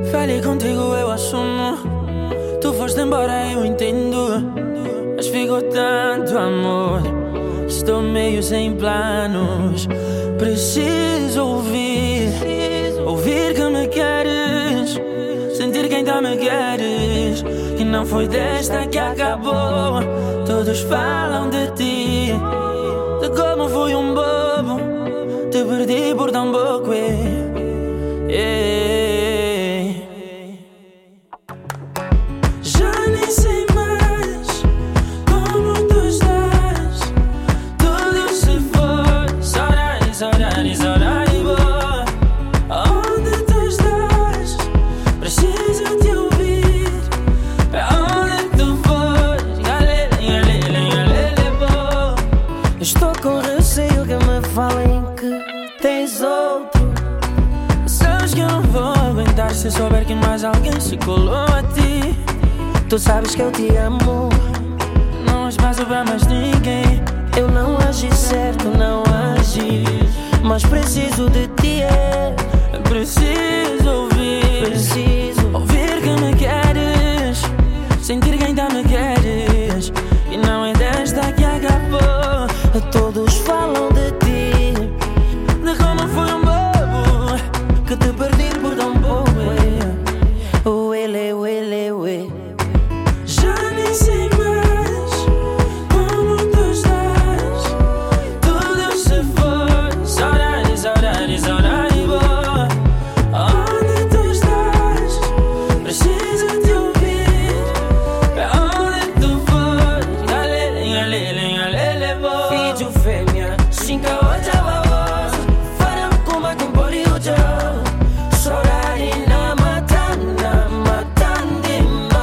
Falei contigo, eu assumo. Tu foste embora, eu entendo. Mas ficou tanto amor que estou meio sem planos. Preciso ouvir que me queres, sentir que ainda me queres, que não foi desta que acabou. Todos falam de ti, de como fui um bobo, te perdi por tão pouco. Já nem sei mais como tu estás. Tudo se foi, saudades, saudades, saudades. Onde tu estás? Preciso te ouvir. Pra onde tu fores? Galera, galera, galera, boa. Estou com receio que me falem que tens outro. Sabes que eu não vou aguentar se souber que mais alguém se colou a ti. Tu sabes que eu te amo. Não há espaço pra mais ninguém. Eu não agi certo, não agi, mas preciso de ti, Preciso ouvir que me queres, sentir que ainda me queres, e não é desta que acabou. Todos falam de ti, de como fui um bobo, que te perdi por tão pouco. Uele, uele, uele. Já nem sei mais como tu estás. Tudo se foi, saudades, saudades, saudades, boa. Onde tu estás? Preciso te ouvir. Pra onde tu fores? Galele, galele, galele, boa. Filho fêmea, cinca ocha babosa, farão como a compori o teu. Sorari na matanda, matande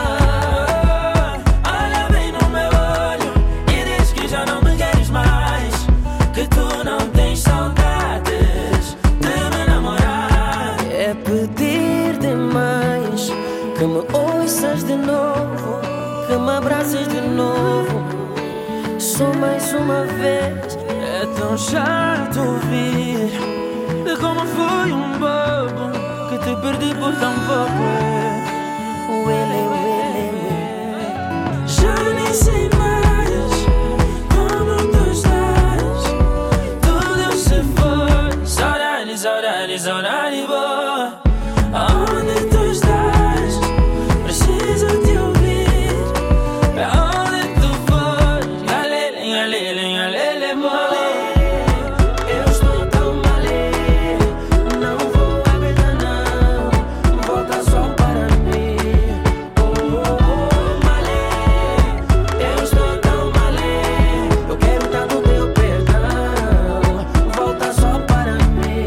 mais. Olha bem no meu olho e diz que já não me queres mais, que tu não tens saudades de me namorar. É pedir demais que me ouças de novo, que me abraces de novo, só mais uma vez. É tão chato ouvir de como fui um bobo, que te perdi por tão pouco. Uele, uele, uele. Já nem sei mais como tu estás. Tudo se foi, saudades, saudades, saudades, boa. Onde tu estás? Preciso te ouvir. Pra onde tu fores? Galele, galele, galele, boa. Eu estou tão mal, não vou aguentar não, volta só para mim. Oh, oh, malê, eu estou tão mal, eu quero tanto teu perdão, volta só para mim.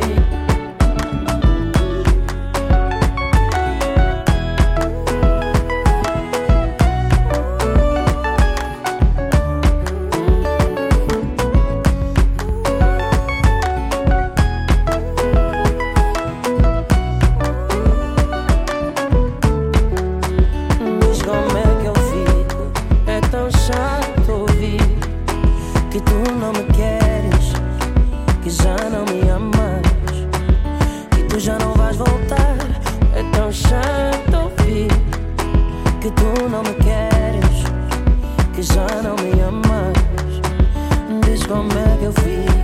Diz como é que eu fico, é tão chato ouvir que tu não me queres, que já não me amas, que tu já não vais voltar. É tão chato ouvir que tu não me queres, que já não me amas. Diz como é que eu fico.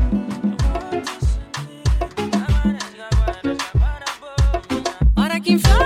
Hora que infla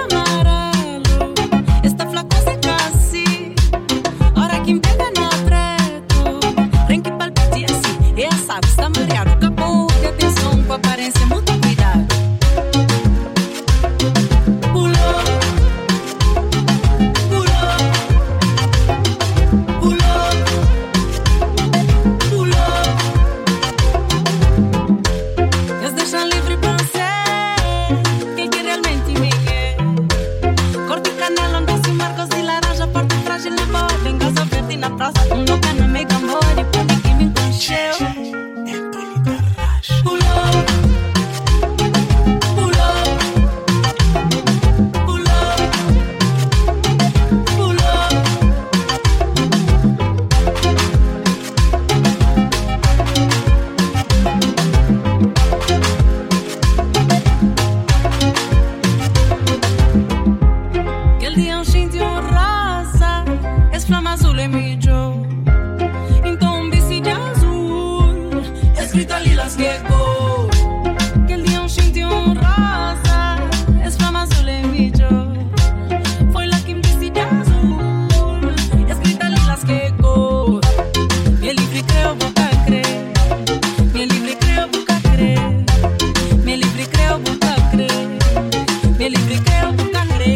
libriqueo tu cangre.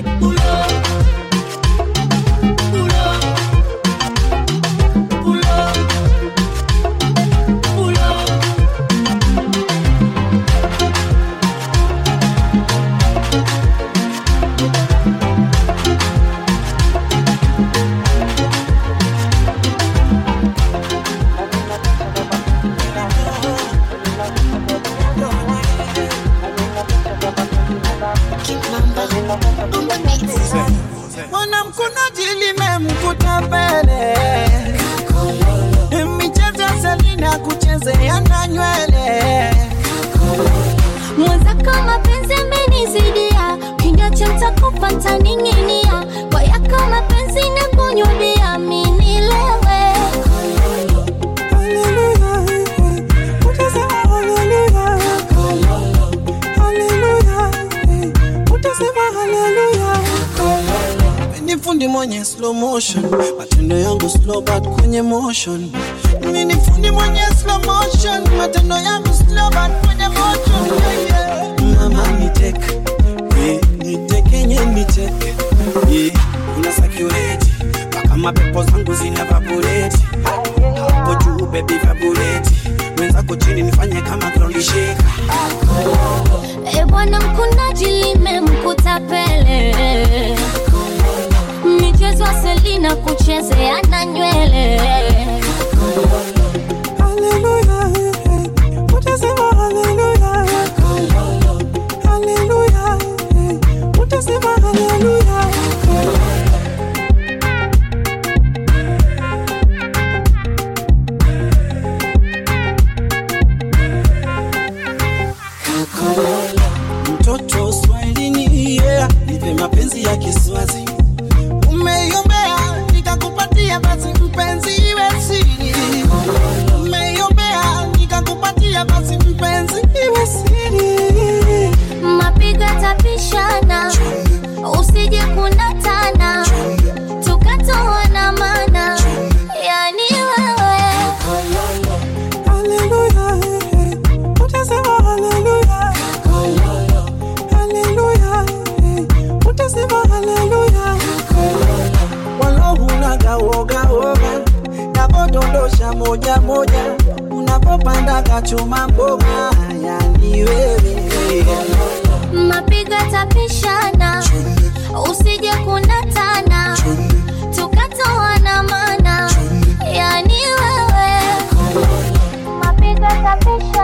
Mwanamkunaji limemkuta mbele, michezo Selina kuchezea na nywele. Mwenzako mapenzi amenizidia, kinywa cha mtakupa ntaninginia. Kwa yako mapenzi na kunyudia, mini lewe. Hallelujah, utasema hallelujah. Hallelujah, utasema hallelujah. Ni fundi mwenye slow motion, matendo yangu slow but kwenye motion. Ni fundi mwenye slow motion, matendo yangu slow but kwenye motion. Mama niteke, niteke niteke. Una security, paka mapepo zangu zina evaporate. Hapo juu baby evaporate, mwenzako chini nifanye kama ground shaker. Bwana mkunaji limemkuta pele, michezo Selina kuchezea na nywele. Hallelujah, utasema hallelujah. Hallelujah, utasema hallelujah. Mtoto Swahilini, yeah, nipe mapenzi ya Kiswazi. Umeiombea nikakupatia, basi mpenzi iwe siri. Umeiombea nikakupatia, basi mpenzi iwe siri. Mapiga tapishana, usije kunatana, tukatoa na mana, yani wewe. Hallelujah, utasema hallelujah. Hallelujah, utasema hallelujah. Walau unagawoga woga, navodondosha moja moja, unapopanda kachuma mboga, yani wewe. Mapiga tapishana, usije kunatana, tukatoa na mana, yani wewe. Mapiga tapishana.